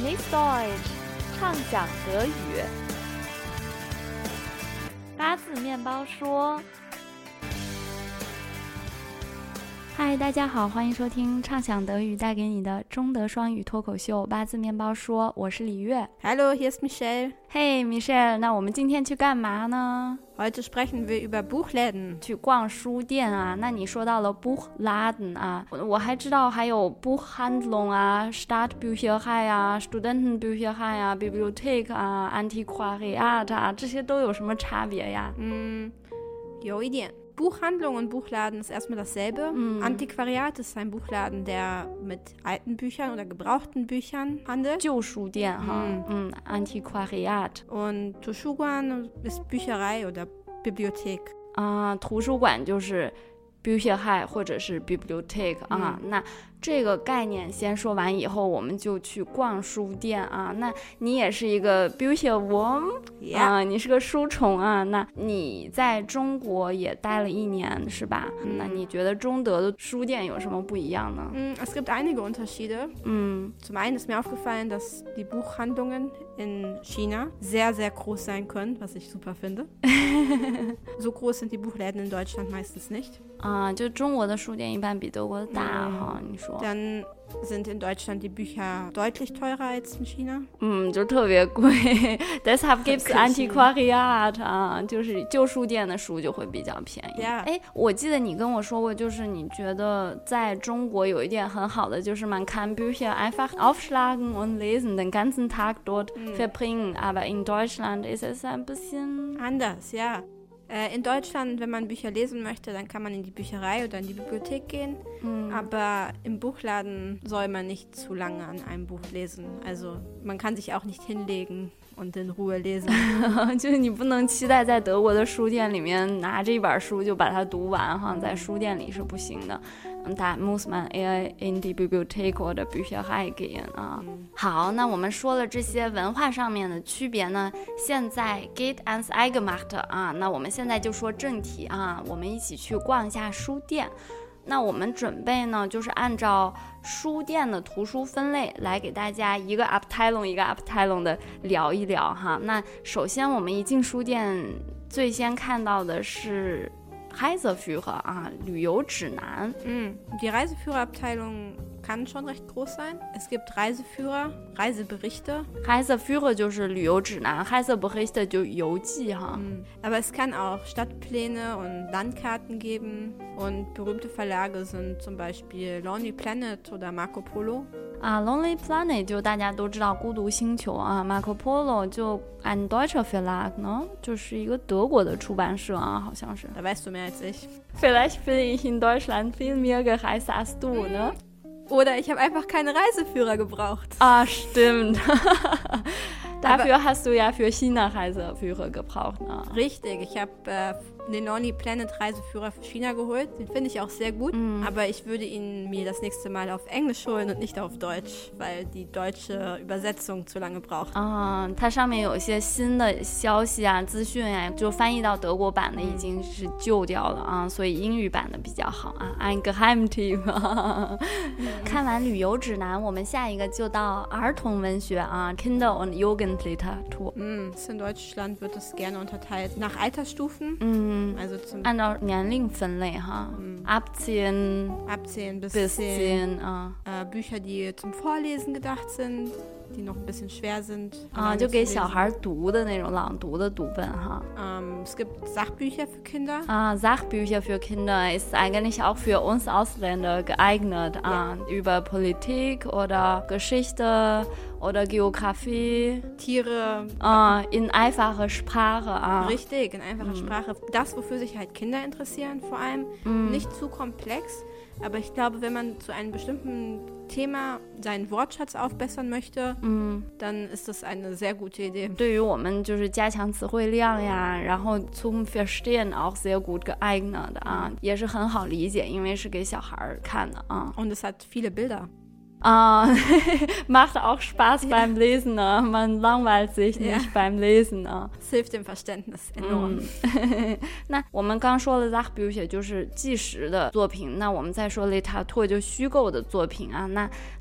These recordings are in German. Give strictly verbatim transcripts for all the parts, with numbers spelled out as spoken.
Genieß Deutsch，畅想德语。八字面包说。嗨，大家好，欢迎收听畅想德语带给你的中德双语脱口秀八字面包说，我是李月。 Hallo, hier ist Michelle. Hey Michelle， 那我们今天去干嘛呢？ Heute sprechen wir über Buchläden. 去逛书店啊，那你说到了 Buchladen 啊，我还知道还有 Buchhandlung 啊 Stadtbücherei 啊 Studentenbücherei 啊 Bibliothek 啊 Antiquariat 啊，这些都有什么差别呀？ Mm, 有一点。Buchhandlung und Buchladen ist erstmal dasselbe. Mm. Antiquariat ist ein Buchladen, der mit alten Büchern oder gebrauchten Büchern handelt. 旧书店哈， mm. 嗯 Antiquariat. Und Tuschuguan ist Bücherei oder Bibliothek. 啊，图书馆就是 Bücherei 或者是 Bibliothek 啊， 嗯、 那这个概念先说完以后，我们就去逛书店啊。那你也是一个 Bücherwurm、yeah. 啊，你是个书虫啊。那你在中国也待了一年是吧？嗯、那你觉得中德的书店有什么不一样呢？ Mm, es gibt einige Unterschiede. Mm. Zum einen ist mir aufgefallen, dass die Buchhandlungen in China sehr, sehr groß sein können, was ich super finde. So groß sind die Buchläden in Deutschland meistens nicht. 啊，就中国的书店一般比德国的大哈，你说。 Dann sind in Deutschland die Bücher deutlich teurer als in China. 嗯，就特别贵。Deshalb gibt's Antiquariat 啊，就是旧书店的书就会比较便宜。 Yeah. 哎，我记得你跟我说过，就是你觉得在中国有一点很好的，就是man kann Bücher einfach aufschlagen und lesen, den ganzen Tag dort mm. verbringen. Aber in Deutschland ist es ein bisschen anders, ja. In Deutschland, wenn man Bücher lesen möchte, dann kann man in die Bücherei oder in die Bibliothek gehen. Mm. Aber im Buchladen soll man nicht zu lange an einem Buch lesen. Also man kann sich auch nicht hinlegen und in Ruhe lesen. 就是你不能期待在德国的书店里面拿着一本书就把它读完哈，在书店里是不行的。Da muss man eher in die Bibliothek oder Bücherei gehen 啊。嗯、好，那我们说了这些文化上面的区别呢，现在 geht ans Eingemachte 啊，那我们现在就说正题啊，我们一起去逛一下书店。那我们准备呢，就是按照书店的图书分类来给大家一个 Abteilung 一个 Abteilung 的聊一聊哈。那首先我们一进书店，最先看到的是Reiseführer 啊，旅游指南。 嗯 Die Reiseführerabteilung kann schon recht groß sein. Es gibt Reiseführer, Reiseberichte. Reiseführer 就是旅游指南 ，Reiseberichte 就游记哈。 嗯 Aber es kann auch Stadtpläne und Landkarten geben. Und berühmte Verlage sind zum Beispiel Lonely Planet oder Marco Polo. 啊 Lonely Planet 就大家都知道孤独星球啊 Marco Polo 就 ein deutscher Verlag 呢，就是一个德国的出版社啊，好像是。 Da weißt du mehr als ich. Vielleicht bin ich in Deutschland viel mehr gereist als du, ne? Oder ich habe einfach keine Reiseführer gebraucht. Ah, stimmt. Dafür Aber, hast du ja für China Reiseführer gebraucht. Ne? Richtig, ich habe äh, den Lonely Planet Reiseführer für China geholt. Den finde ich auch sehr gut. Mm. Aber ich würde ihn mir das nächste Mal auf Englisch holen und nicht auf Deutsch, weil die deutsche Übersetzung zu lange braucht. 啊，它上面有一些新的消息啊、资讯啊，就翻译到德国版的已经是旧掉了啊，所以英语版的比较好啊。Ein Geheimtipp 看完旅游指南，我们下一个就到儿童文学啊 ，Kinder- und Jugendliteratur. Mm, in Deutschland wird es gerne unterteilt nach Altersstufen. Mm. Also zum 按照年龄分类哈 mm. ab zehn ab zehn bis, bis zehn, zehn啊 äh, Bücher, die zum Vorlesen gedacht sind, die noch ein bisschen schwer sind. 啊，就给小孩读的那种朗读的读本哈。 Um, es gibt Sachbücher für Kinder. Ah, Sachbücher für Kinder ist eigentlich auch für uns Ausländer geeignet. Ja. Ah, über Politik oder Geschichte oder Geografie. Tiere. Ah, in einfacher Sprache. Ah. Richtig, in einfacher mm. Sprache. Das, wofür sich halt Kinder interessieren vor allem. Mm. Nicht zu komplex. Aber ich glaube, wenn man zu einem bestimmten Thema seinen Wortschatz aufbessern möchte, mm. dann ist das eine sehr gute Idee. 对于我们就是加强词汇量呀，然后 zum Verstehen auch sehr gut geeignet 啊，也是很好理解，因为是给小孩看的啊。 Und es hat viele Bilder. Ah, macht auch Spaß beim Lesen, ne? Man langweilt sich nicht ja. beim Lesen. Ne? Das hilft dem Verständnis enorm. 那我们刚说了 Sachbücher 就是纪实的作品，那我们再说 Literatur 就虚构的作品啊。那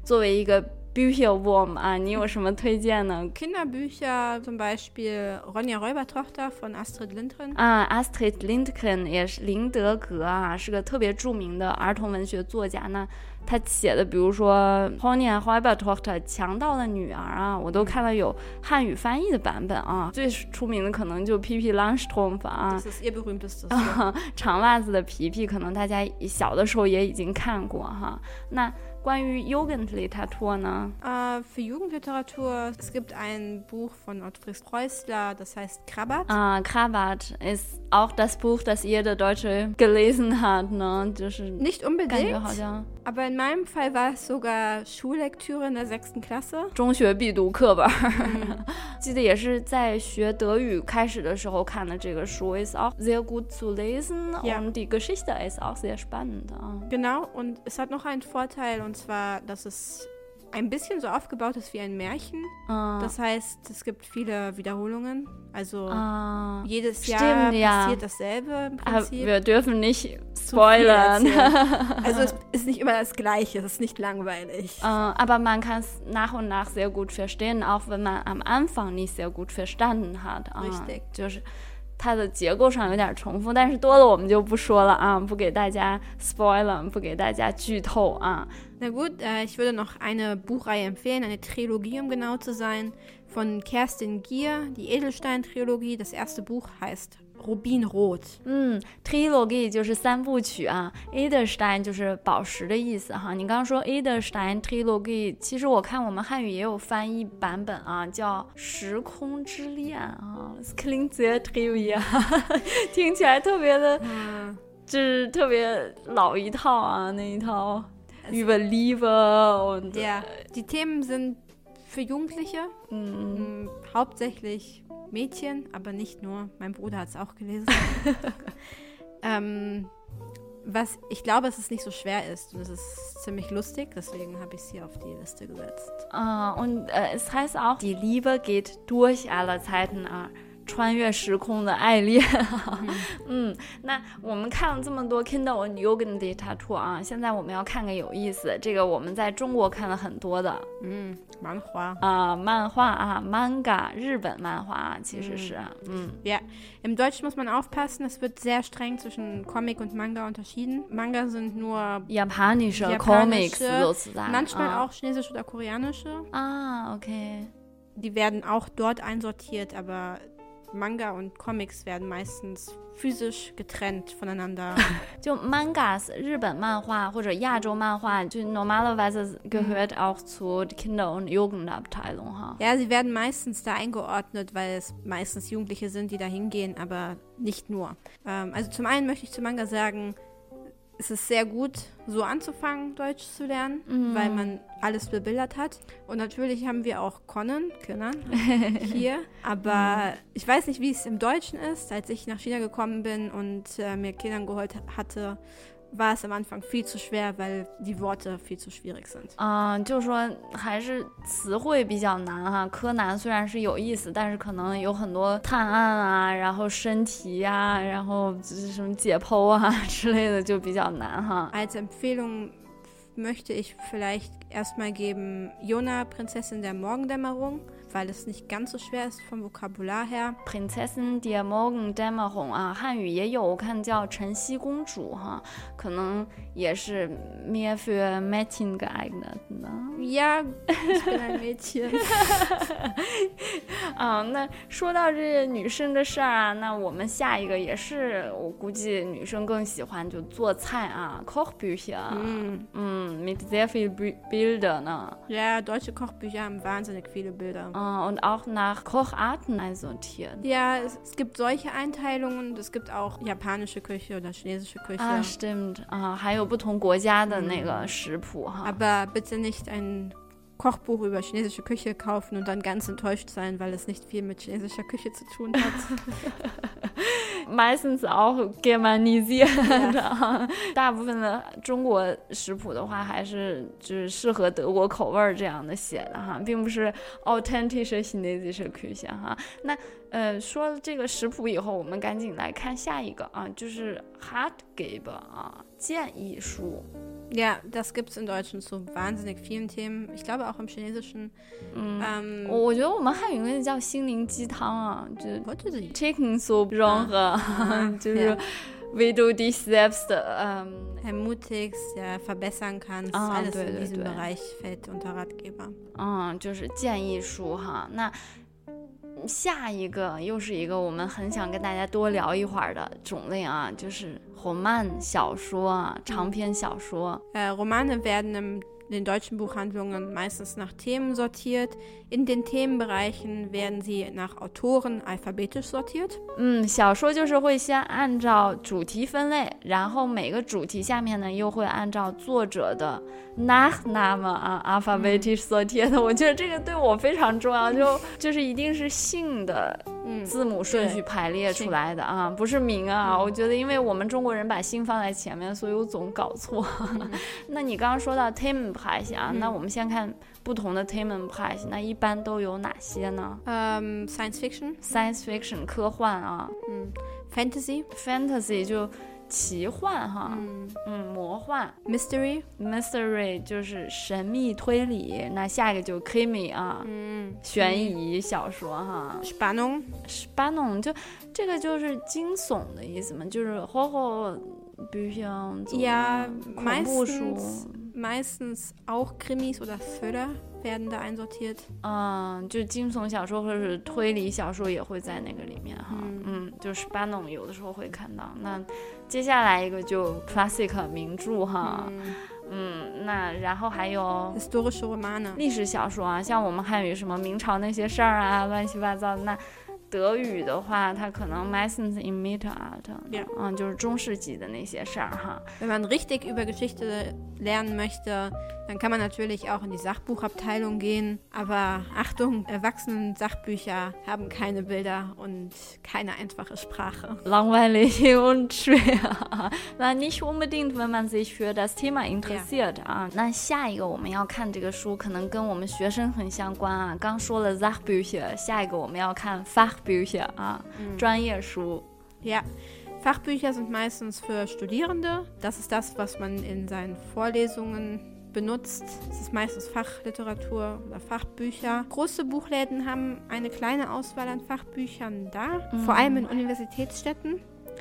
作为一个Bücherwurm 啊，你有什么推荐呢？ Kinderbücher, zum Beispiel Ronja Räubertochter von Astrid Lindgren. 啊 Astrid Lindgren 也是林德格啊，是个特别著名的儿童文学作家呢。他写的比如说 Ronja Räubertochter 强盗的女儿啊，我都看了有汉语翻译的版本啊。最出名的可能就皮皮 Langstrumpf 啊， Das ist ihr berühmtestes. 长袜子的皮皮，可能大家小的时候也已经看过哈。那关于 Jugendliteratur 呢？ Uh, für Jugendliteratur, es gibt ein Buch von Ottfried Preußler, das heißt Krabat. Ah, Krabat ist auch das Buch, das jeder Deutsche gelesen hat, ne? 就是 Nicht unbedingt, 好像 aber in meinem Fall war es sogar Schullektüre in der sechsten Klasse. 中学必读课本。记得也是在学德语开始的时候看的这个书 ist auch sehr gut zu lesen ja. und die Geschichte ist auch sehr spannend. Genau, und es hat noch einen Vorteil, und zwar, dass es ein bisschen so aufgebaut ist wie ein Märchen. Ah. Das heißt, es gibt viele Wiederholungen. Also ah. jedes Stimmt, Jahr ja. passiert dasselbe im Prinzip. Wir dürfen nicht spoilern. Also es ist nicht immer das Gleiche, es ist nicht langweilig. Uh, aber man kann es nach und nach sehr gut verstehen, auch wenn man am Anfang nicht sehr gut verstanden hat. Richtig. Uh, 就是它的结构上有点重复，但是多了我们就不说了啊，不给大家 spoilern， 不给大家剧透啊。 Na gut, äh, ich würde noch eine Buchreihe empfehlen, eine Trilogie, um genau zu sein, von Kerstin Gier, die Edelstein-Trilogie. Das erste Buch heißt Rubinrot. 嗯 Trilogie 就是三部曲啊 Edelstein 就是宝石的意思哈。你刚刚说 Edelstein Trilogie， 其实我看我们汉语也有翻译版本啊，叫时空之恋啊 Das klingt sehr trivial 听起来特别的、嗯、就是特别老一套啊，那一套 über Liebe und ja, die Themen sind für Jugendliche, mm. hauptsächlich Mädchen, aber nicht nur. Mein Bruder hat es auch gelesen. ähm, was ich glaube, dass es nicht so schwer ist und es ist ziemlich lustig, deswegen habe ich es hier auf die Liste gesetzt. Uh, und uh, es heißt auch, die Liebe geht durch alle Zeiten. Uh. 穿越时空的爱恋嗯，那我们看了这么多 Kindle und Jugendliteratur 啊，现在我们要看个有意思，这个我们在中国看了很多的嗯，漫画啊，漫画啊 Manga 日本漫画啊，其实是嗯 Ja, im Deutschen muss man aufpassen, es wird sehr streng zwischen Comic und Manga unterschieden. Manga sind nur japanische, japanische Comics sozusagen. Manchmal ah. auch chinesische oder koreanische. Ah, okay. Die werden auch dort einsortiert, aber Manga und Comics werden meistens physisch getrennt voneinander. 就 Mangas 日本漫画或者亚洲漫画，就 normalerweise gehört auch zu Kinder- und Jugendabteilung. Ha? Ja, sie werden meistens da eingeordnet, weil es meistens Jugendliche sind, die da hingehen, aber nicht nur. Ähm, also zum einen möchte ich zu Manga sagen, es ist sehr gut, so anzufangen, Deutsch zu lernen, mm. weil man alles bebildert hat. Und natürlich haben wir auch Conan, Conan hier. Aber mm. ich weiß nicht, wie es im Deutschen ist. Als ich nach China gekommen bin und äh, mir Kindern geholt hatte, war es am Anfang viel zu schwer, weil die Worte viel zu schwierig sind. 嗯、呃，就是说还是词汇比较难哈。柯南虽然是有意思，但是可能有很多探案啊，然后身体啊，然后什么解剖啊之类的就比较难哈。 Als Empfehlung möchte ich vielleicht erstmal geben Yona, Prinzessin der Morgendämmerung, weil es nicht ganz so schwer ist vom Vokabular her. Prinzessin der Morgendämmerung 啊，汉语也有，我看叫晨曦公主哈，可能也是 mehr für Mädchen geeignet 呢。 Ja, ich bin ein Mädchen. 啊，那说到这女生的事儿啊，那我们下一个也是，我估计女生更喜欢就做菜啊 ，Kochbücher， 嗯嗯 ，mit sehr viel Bilder 呢。 Ja, deutsche Kochbücher haben wahnsinnig viele Bilder. Und auch nach Kocharten einsortiert. Ja, es, es gibt solche Einteilungen und es gibt auch japanische Küche oder chinesische Küche. Ah, stimmt. Ah, 还有不同国家的那个食谱哈。 Aber bitte nicht ein Kochbuch über chinesische Küche kaufen und dann ganz enttäuscht sein, weil es nicht viel mit chinesischer Küche zu tun hat. Meistens auch germanisiert 啊，大部分的中国食谱的话，还是就是适合德国口味这样的写的哈，并不是 authentische chinesische Küche 哈。那呃，说了这个食谱以后，我们赶紧来看下一个啊，就是 Ratgeber 啊，建议书。 Ja, das gibt es in Deutschen zu wahnsinnig vielen Themen. Ich glaube auch im Chinesischen. 嗯， ähm, 我觉得我们汉语那叫心灵鸡汤啊，就 What is it? Chicken Soup 融合，就是 wie du dich selbst ähm, ermutigst, ja, verbessern kannst. Ah, Alles 对， in 对， diesem 对。 Bereich fällt unter Ratgeber. 嗯，就是建议书哈。那下一个又是一个我们很想跟大家多聊一会儿的种类啊，就是roman小说啊，长篇小说。 Äh, Romane werden im, in den deutschen Buchhandlungen meistens nach Themen sortiert. In den Themenbereichen werden sie nach Autoren alphabetisch sortiert. 嗯，小说就是会先按照主题分类，然后每个主题下面呢又会按照作者的 Nachname 啊 alphabetisch sortiert。我觉得这个对我非常重要，就就是一定是姓的字母顺序排列出来的啊，不是名啊。我觉得因为我们中国人把姓放在前面，所以我总搞错。那你刚刚说到 Themenbereich 啊，那我们先看不同的 Themenbereich， 那一般都有哪些呢？ Ähm, Science Fiction. Science Fiction 科幻啊， 嗯 Fantasy. Fantasy 就奇幻哈， 嗯嗯，魔幻。 Mystery. Mystery 就是神秘推理，那下一个就 Krimi 啊， 嗯悬疑小说哈。 Spannung. Spannung 就这个就是惊悚的意思嘛，就是 Horror， 比如像 Ja, 恐怖书。 meistens, meistens auch Krimis oder Thriller werden da einsortiert. 嗯，就惊悚小说或者是推理小说也会在那个里面哈， 嗯嗯，就 Spannung 有的时候会看到。那接下来一个就 classic 名著哈， 嗯嗯，那然后还有 Historische Romane. 历史小说啊，像我们汉语什么明朝那些事儿啊，乱七八糟的。那德语的话，它可能 meistens im Mittelalter， Ja. 嗯，就是中世纪的那些事儿哈。 Wenn man richtig über Geschichte lernen möchte, dann kann man natürlich auch in die Sachbuchabteilung gehen. Aber Achtung, Erwachsenen-Sachbücher haben keine Bilder und keine einfache Sprache. langweilig und schwer. 那 nicht unbedingt, wenn man sich für das Thema interessiert 啊。那下一个我们要看这个书，可能跟我们学生很相关啊。刚说了 Sachbücher， 下一个我们要看 Fachbücher 啊，专业书。 Ja, Fachbücher sind meistens für Studierende. Das ist das, was man in seinen Vorlesungen benutzt. Es ist meistens Fachliteratur oder Fachbücher. Große Buchläden haben eine kleine Auswahl an Fachbüchern da, vor allem in Universitätsstädten.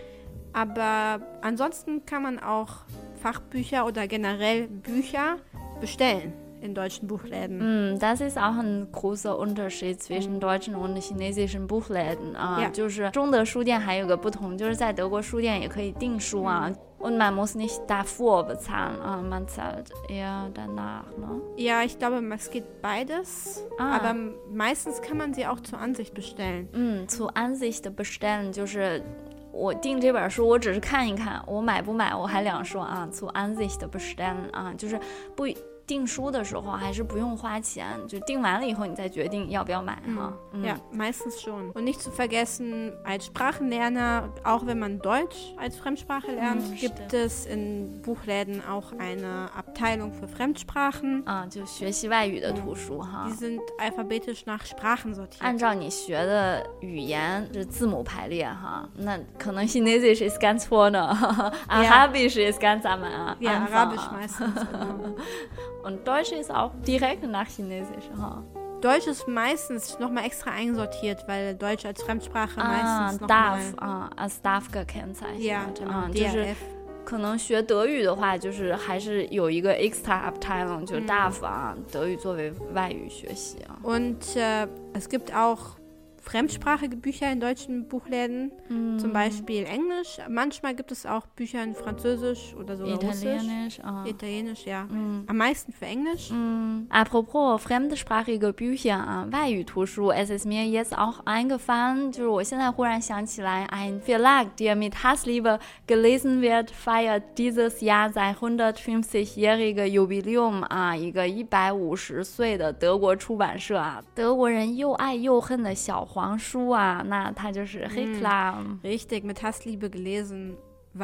Aber ansonsten kann man auch Fachbücher oder generell Bücher bestellen in deutschen Buchläden. 嗯， das ist auch ein großer Unterschied zwischen deutschen und chinesischen Buchläden 啊， Ja. 就是中德书店还有个不同，就是在德国书店也可以订书啊。 Und man muss nicht davor bezahlen, ah, man zahlt eher danach, ne? Ja, ich glaube, es geht beides. Ah. Aber meistens kann man sie auch zur Ansicht bestellen. 嗯， zur Ansicht bestellen 就是我订这本书，我只是看一看，我买不买我还两说啊。zur Ansicht bestellen 啊，就是不订书的时候还是不用花钱，就订完了以后你再决定要不要买哈。 Mhm. Ja, meistens schon. Und nicht zu vergessen, als Sprachenlerner, auch wenn man Deutsch als Fremdsprache lernt, Mhm, gibt stimmt. es in Buchläden auch eine Abteilung für Fremdsprachen. 啊，就学习外语的图书哈。 Die sind alphabetisch nach Sprachen sortiert. 按照你学的语言是字母排列哈，那可能 Chinesisch ist ganz vorne， Arabisch ist ganz am Ja, Anfang. Arabisch meistens. Genau. Und Deutsch ist auch direkt nach Chinesisch ha. Deutsch ist meistens nochmal extra einsortiert, weil Deutsch als Fremdsprache 啊 meistens ，darf nochmal... 啊 als darf gekennzeichnet， Ja, genau, 啊，就 D 是 R F. 可能学德语的话，就是还是有一个 extra Abteilung， 就是 darf 啊，德语作为外语学习啊。 Und äh, es gibt auch fremdsprachige Bücher in deutschen Buchläden, zum Beispiel Englisch. Manchmal gibt es auch Bücher in Französisch oder sogar Russisch. Italienisch, ah. Italienisch, ja. Am meisten für Englisch. Mm, apropos fremdsprachige Bücher 啊，外语图书 ，es ist mir jetzt auch eingefallen， 就是我现在忽然想起来 ，ein Verlag, der mit Hassliebe gelesen wird, feiert dieses Jahr sein hundertfünfzigjährige Jubiläum 啊，一个一百五十岁的德国出版社啊，德国人又爱又恨的小黄书啊，那它就是 Reklam。 Richtig, mit Hassliebe gelesen, weil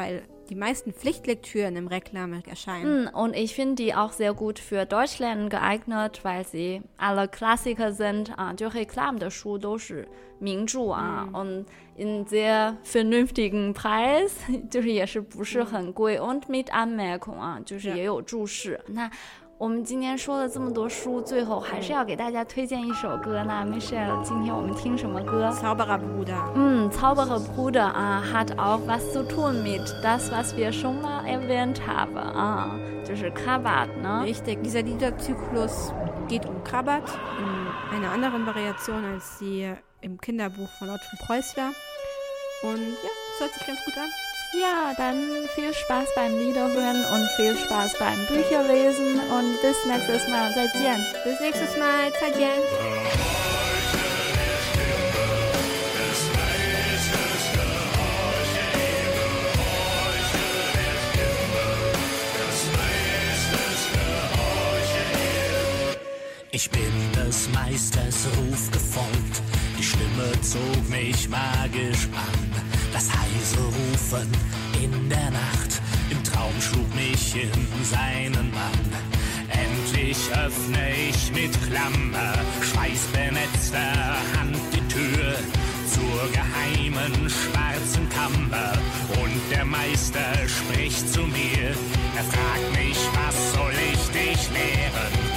die meisten Pflichtlektüren im Reklam erscheinen. Mm, und ich finde die auch sehr gut für Deutschlernen geeignet, weil sie alle Klassiker sind. Ah, 就 Reklam 的书都是名著啊， 嗯 und in sehr vernünftigen Preis， 就是也是不是很贵 und mit Anmerkung 啊，就是也有注释。那我们今天说了这么多书，最后还是要给大家推荐一首歌。那 Michelle， 今天我们听什么歌？ Zaubererbruder。 嗯 Zaubererbruder 啊 hat auch was zu tun mit das, was wir schon mal erwähnt haben 啊，就是 Krabat 呢。 Richtig, dieser Liederzyklus geht um Krabat in einer anderen Variation als die im Kinderbuch von Ottfried Preußler. Und ja, das hört sich ganz gut an. Ja, dann viel Spaß beim Liederhören und viel Spaß beim Bücherlesen und bis nächstes Mal. 再见. Bis nächstes Mal. 再见. Ich bin des Meisters Ruf gefolgt, die Stimme zog mich magisch an. Das heise Rufen in der Nacht, im Traum schlug mich in seinen Bann. Endlich öffne ich mit Klammer, schweißbenetzter Hand die Tür zur geheimen schwarzen Kammer. Und der Meister spricht zu mir, er fragt mich, was soll ich dich lehren?